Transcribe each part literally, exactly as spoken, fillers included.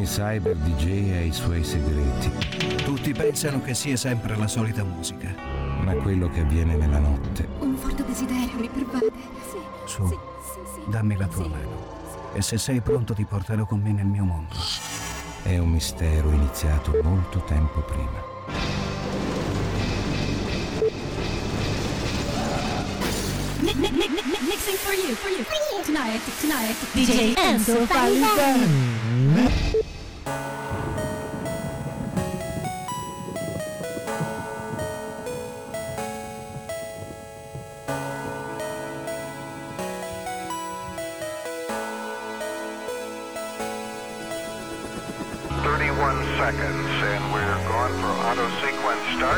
Ogni cyber D J ha i suoi segreti. Tutti pensano che sia sempre la solita musica. Ma quello che avviene nella notte... Un forte desiderio mi pervade. Sì. Su, sì, sì, sì. dammi la tua sì. mano. E se sei pronto ti porterò con me nel mio mondo. È un mistero iniziato molto tempo prima. Mixing for you, for you, for you. Tonight, tonight, D J Enzo Falivene. thirty-one seconds, and we're going for auto sequence start.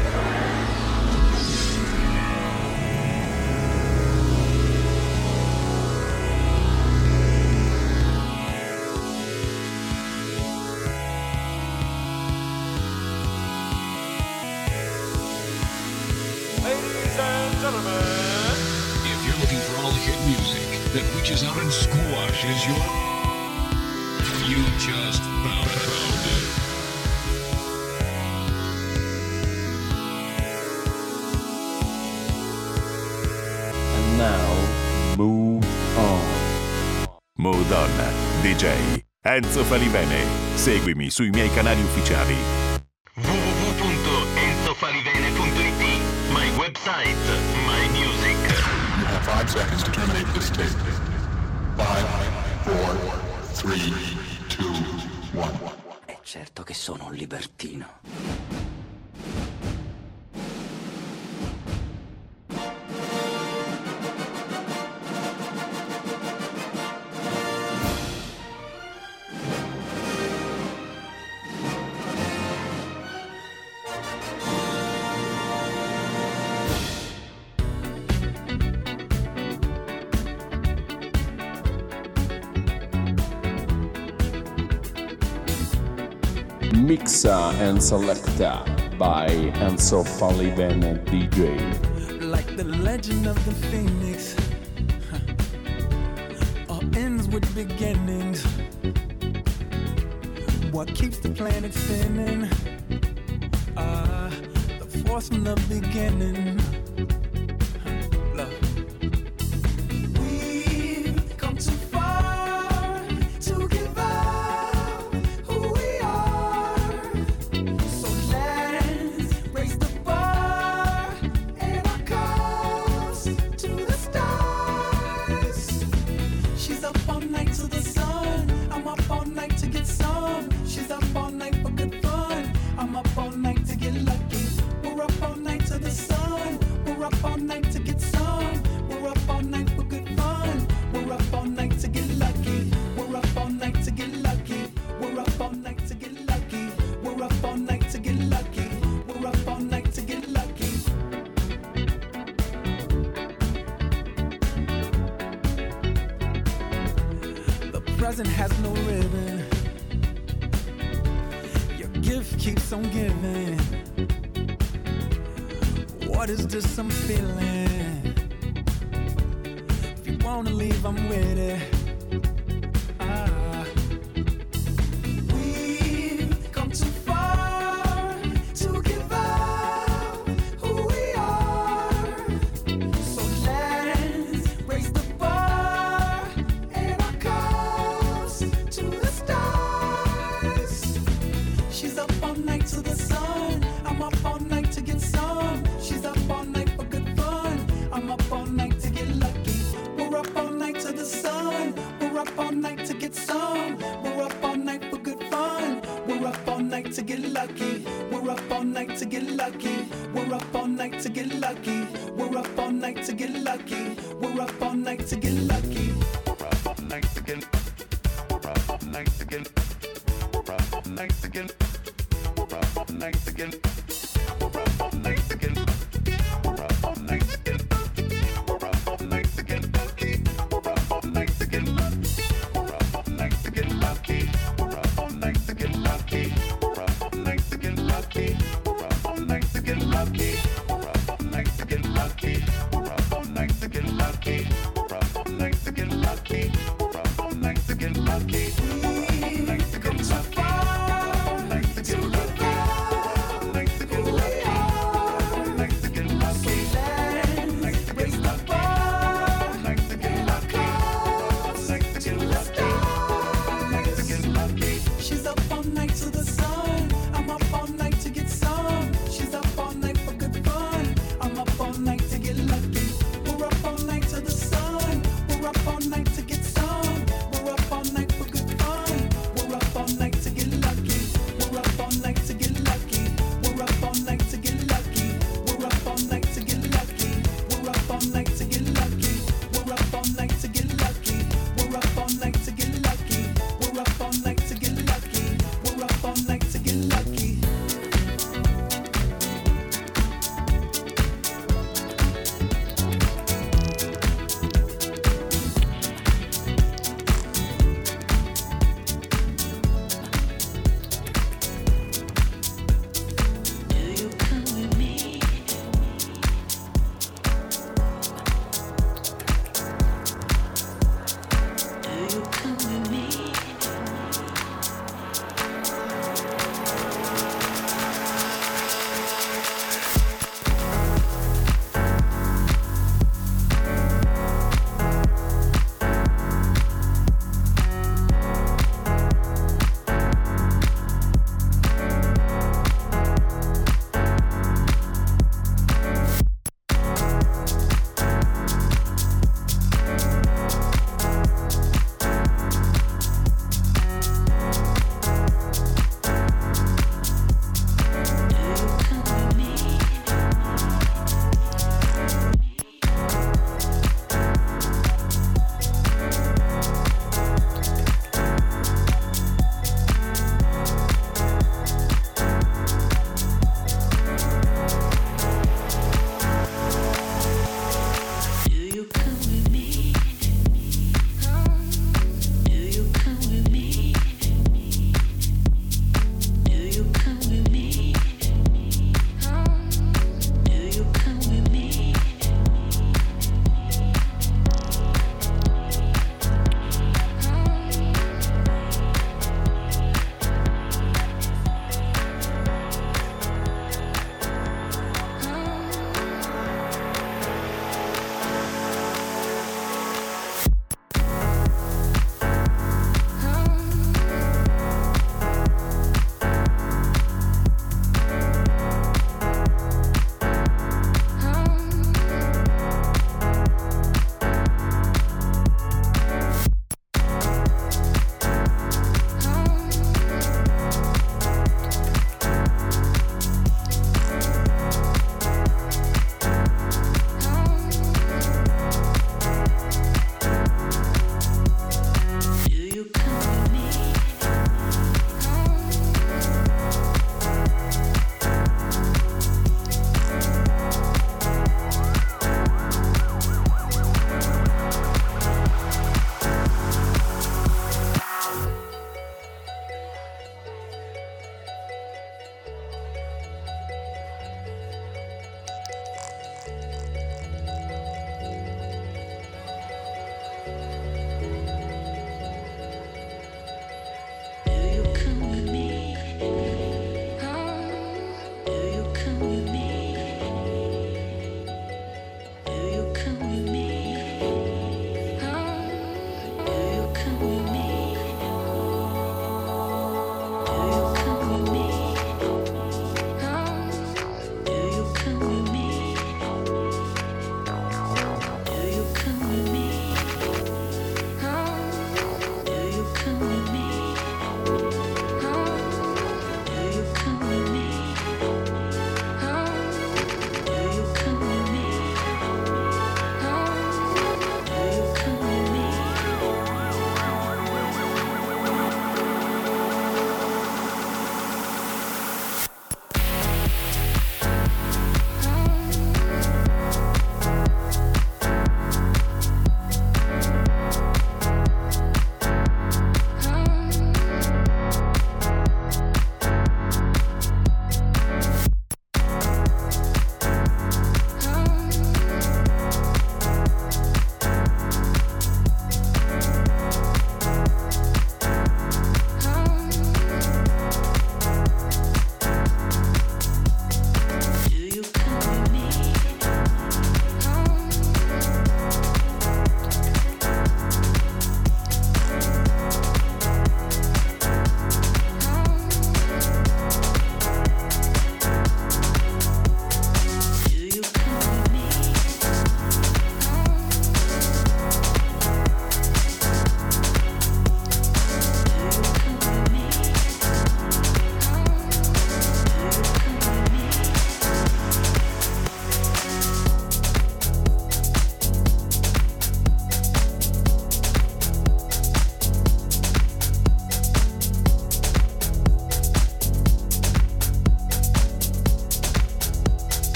Ladies and gentlemen, if you're looking for all the hit music that reaches out and squashes your... You just found, found it. And now, move on. Move on, D J Enzo Falivene. Seguimi sui miei canali ufficiali. w w w punto enzo falivene punto i t, my website, my music. You have five seconds to terminate this tape. Five, four, three, two, one. È certo che sono un libertino. Mixa and Selecta by Enzo Falivene D J. Like the legend of the phoenix, huh. All ends with beginnings. What keeps the planet spinning? Ah, uh, the force from the beginning. Huh. Love. We've come too far to give up who we are. So let's raise the bar and our cups to the stars. She's up all night to the sun. I'm up all night to get some. She's up all night for good fun. I'm up all night to get lucky. We're up all night to the sun. We're up all night to get some. We're up all night for good fun. We're up all night to get lucky. We're up all night to get lucky. We're up all night to get lucky. We're up all night to get lucky. We're up all night to get lucky. The present has no ribbon. Your gift keeps on giving. What is this I'm feeling? If you wanna leave, I'm with it. Ah. We've come too far to give up who we are. So let's raise the bar and our cups to the stars. She's up all night to the sun. I'm up all night to get some. She's up all night for good fun. I'm up all night to get lucky. We're up all night to the sun. We're up all night to get some. We're up all night for good fun. We're up all night to get lucky. We're up all night to get lucky. We're up all night to get lucky. We're up all night to get lucky. We're up all night to get lucky. We're up all night to get. We're up all night to get. We're up all night to get. We're up all night to get. We're up all night to get. We're up all night to get. We're up all night to get lucky. We're up all night to get lucky. We're up all night to get lucky. We're up all night to get lucky. We're up all night to get lucky. We're up all night to get lucky. We're up all night to get lucky. We're up all night to get lucky. We're up all night to get lucky. We're up all night to get lucky. We're up all night to get lucky.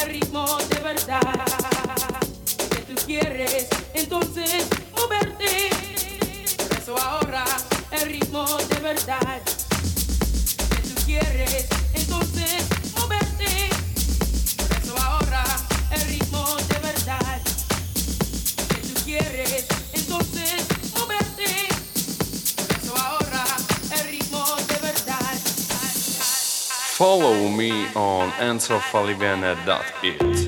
el ritmo de verdad. Que tú quieres entonces moverte. Por eso ahora el ritmo de verdad. Que tú quieres entonces moverte. Por eso ahora el ritmo de verdad. Que tú quieres entonces moverte. Por eso ahora el ritmo de verdad. Follow me on enzo falivene dot it.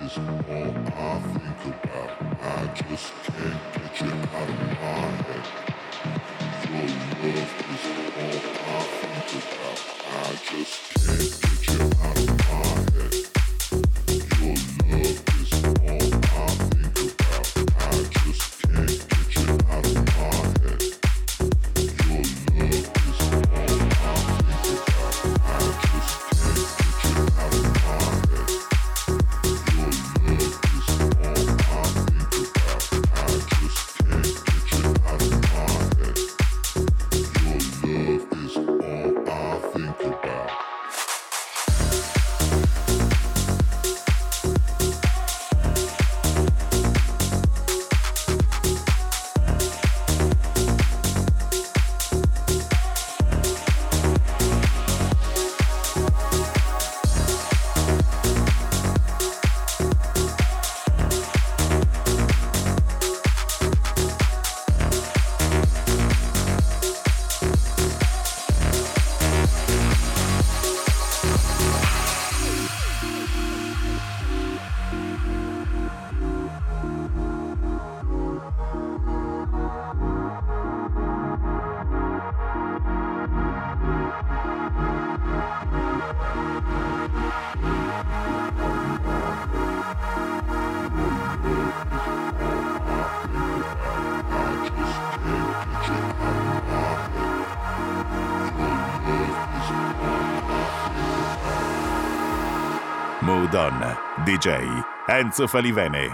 Mood On, D J Enzo Falivene.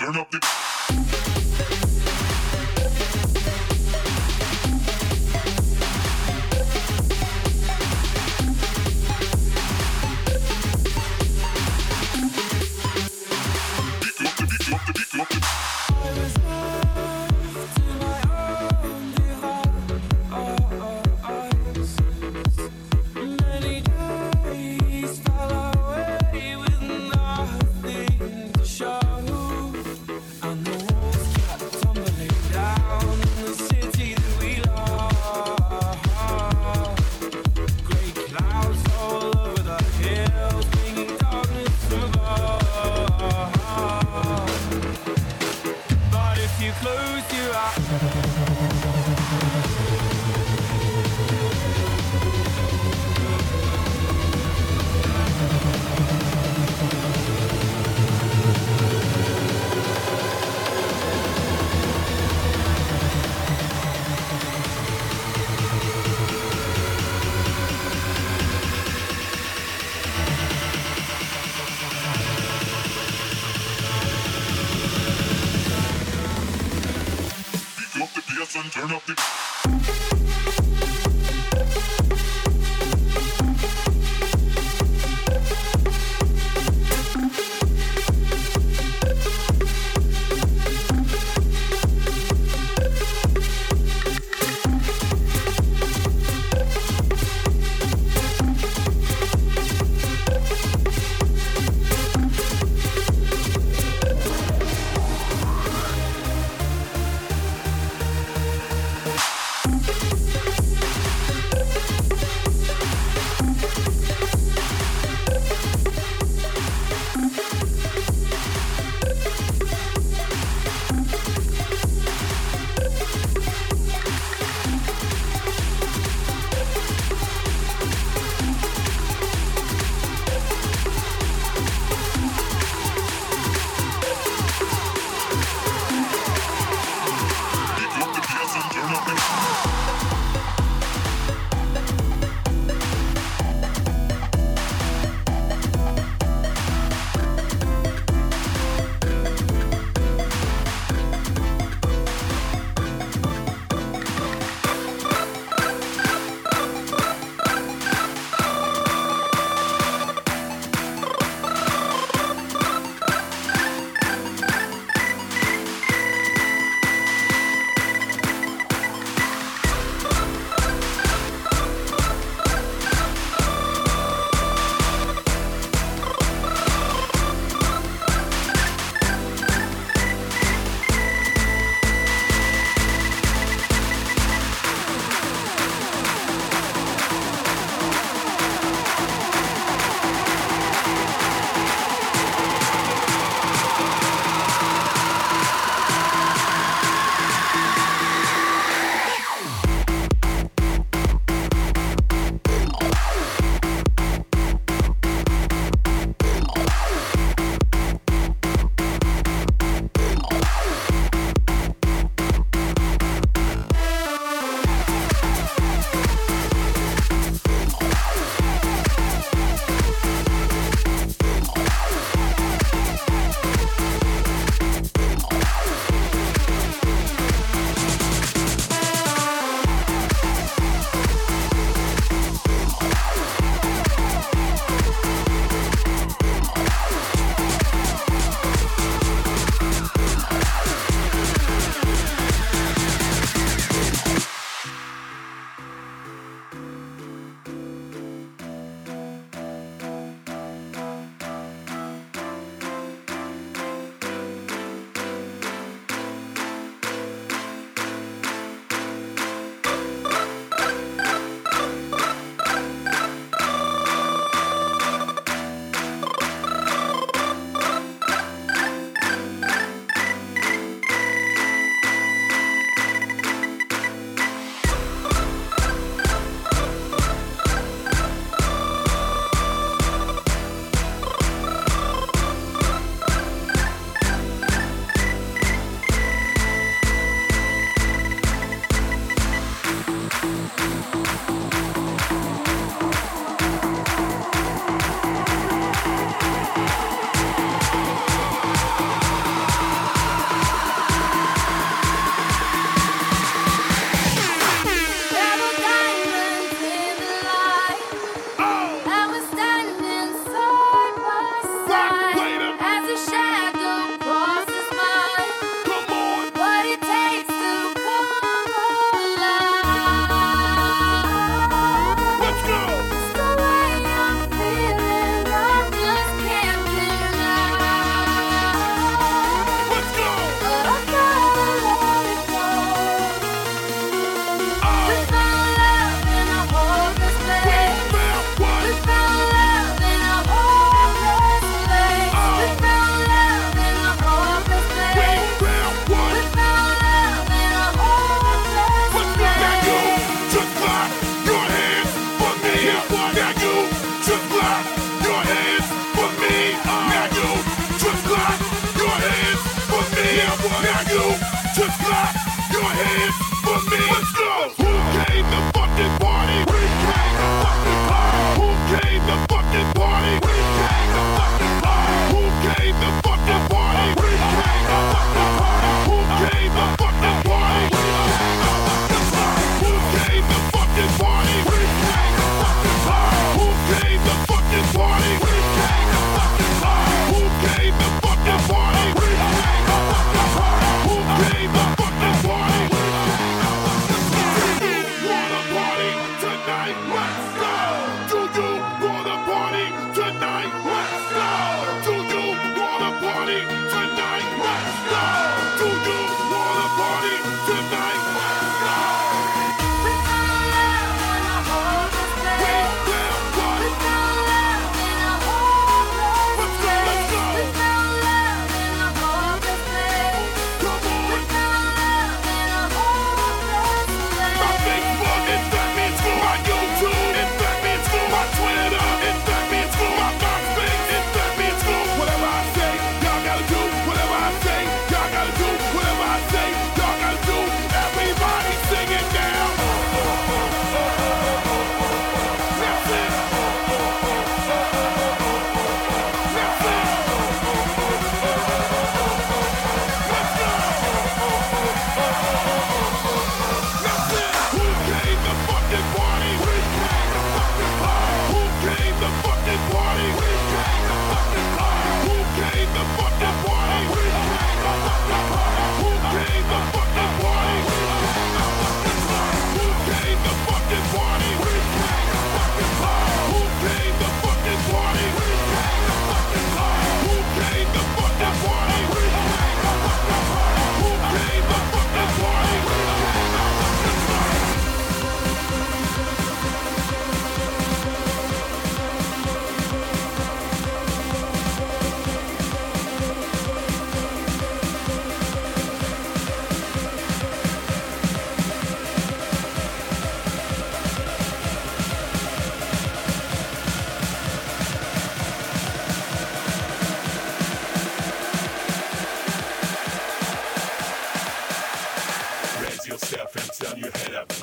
turn up the and turn up the clap your hands for me. Now you just clap your hands for me. Now you just clap your hands for me. Now you just clap your hands for me. Let's go. Who came to fucking party? We came to fucking party. Who came to fucking party? We came to fucking party. Who came to fucking party? We came to fucking party. Who came to fucking party? Who came to fucking party? We came to fucking party. Who came to fucking party? We came to fucking party. Who came to fucking party? We came to fucking party. Who came to fucking party? Do you wanna party tonight? Let's go. Do you wanna party tonight? Let's go. Do you wanna party tonight? Let's go. Do you wanna party tonight? Let's go. We found love in a hopeless place. We found what? We found love in a hopeless place. Let's go. We found love in a hopeless place. Come on. We found love in a hopeless place. My Facebook, in fact, means for my YouTube. In fact, means for my Twitter. In fact, means for my MySpace. In fact, means for whatever I say. Y'all gotta do whatever I say. Y'all gotta do whatever I say. Y'all gotta do. Everybody sing it now. That's it. That's it. Let's go. That's it. Who came to fucking party? We came to fucking party. Who came to fucking party? We came to fucking party. Who came to fucking party? We came to fucking party. Who came to fucking party? We came to fucking party. Who came to fucking party? We came to fucking party. Who came to fucking party? We came to fucking party. Who came to fucking party? We came to fucking party. Who came to fucking party? We came to fucking party. Raise yourself and turn your head up.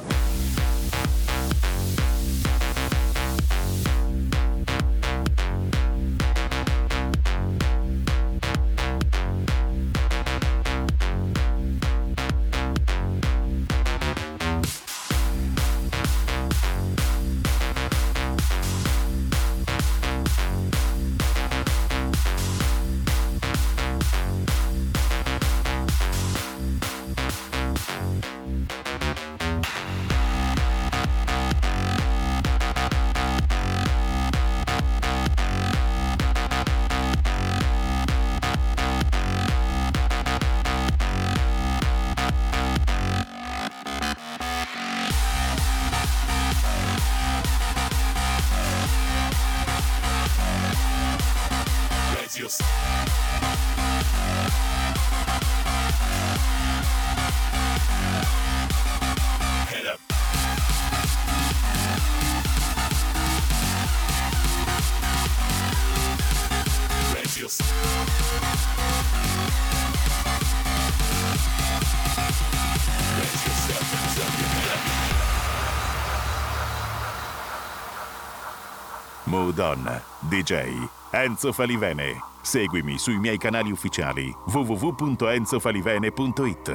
Raise yourself. Head up. Raise yourself. Raise yourself and turn your head up. Mood On, D J Enzo Falivene. Seguimi sui miei canali ufficiali w w w punto enzo falivene punto it.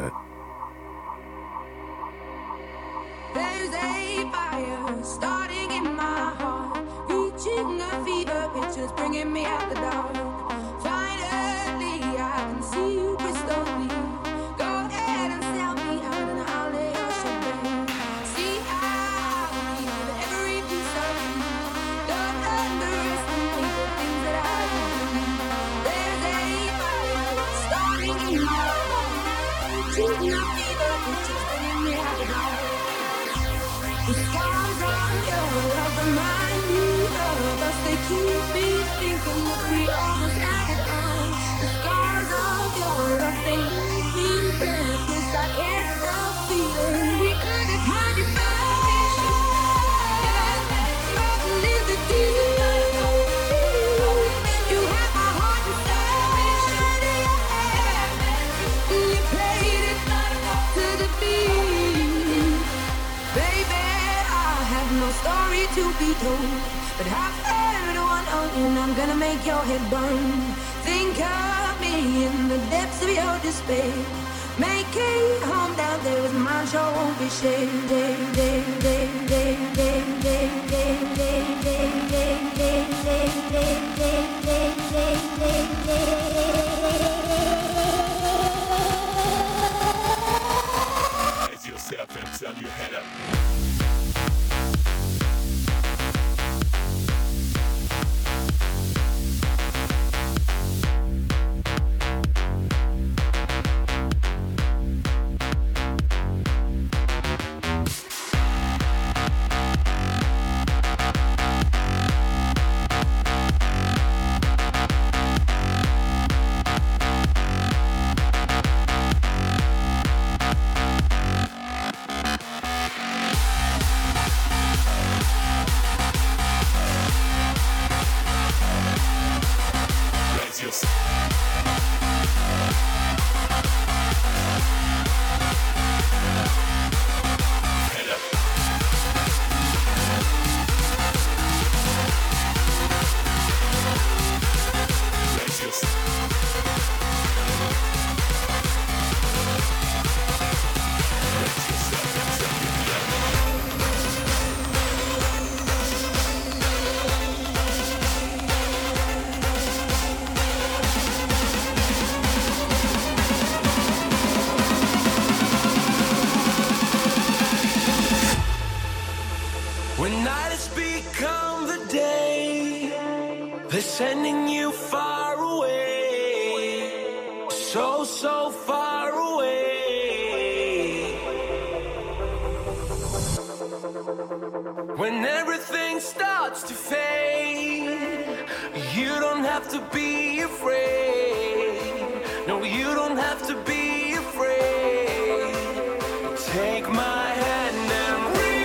There's a fire starting in my heart, reaching a fever pitch, just bringing me out the dark. Finally, I can see you crystal clear. Go ahead and sell me out, and I'll lay your champagne. See how I give every piece of you. Don't underestimate the things that I do. There's a fire starting in my heart, reaching more story to be told, but I've heard one and I'm gonna make your head burn. Think of me in the depths of your despair. Make a home down there with mine, sure won't be shared. Raise yourself and turn your head up. When night has become the day, they're sending you far away, so, so far away. When everything starts to fade, you don't have to be afraid. No, you don't have to be afraid. Take my hand and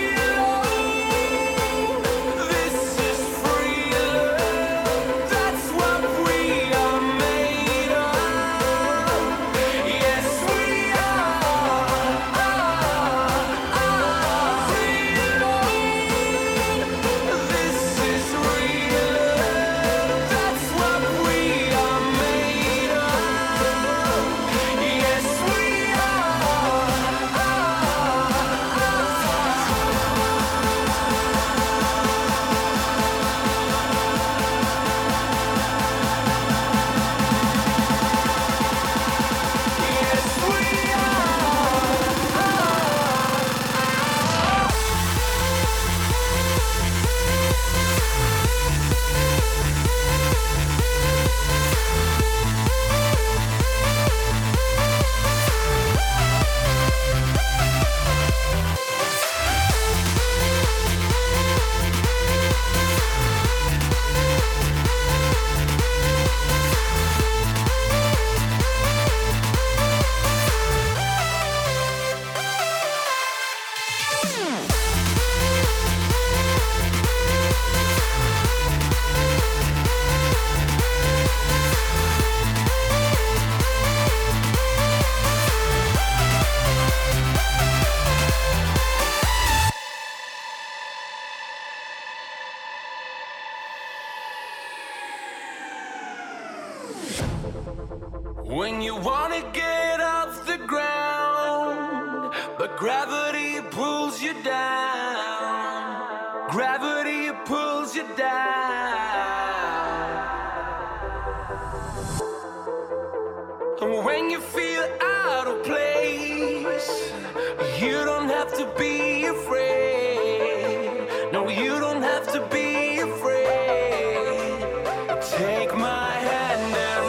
when you wanna get off the ground, but gravity pulls you down. Gravity pulls you down. And when you feel out of place, you don't have to be afraid. No, you don't have to be afraid. Take my hand and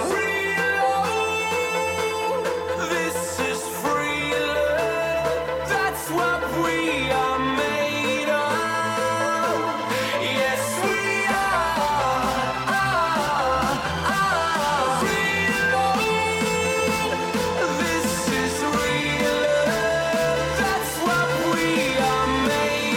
made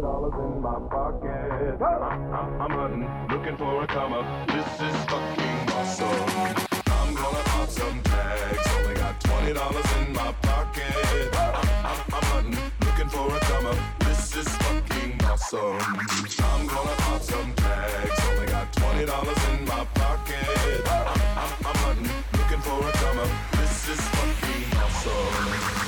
dollars in my pocket. I'm, I'm, I'm hunting, looking for a come up. This is fucking awesome. I'm gonna pop some tags. Only got twenty dollars in my pocket. I'm, I'm, I'm hunting, looking for a come up. This is fucking awesome. I'm gonna pop some tags. Only got twenty dollars in my pocket. I'm, I'm, I'm hunting, looking for a come up. This is fucking awesome.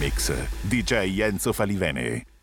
Mix, D J Enzo Falivene.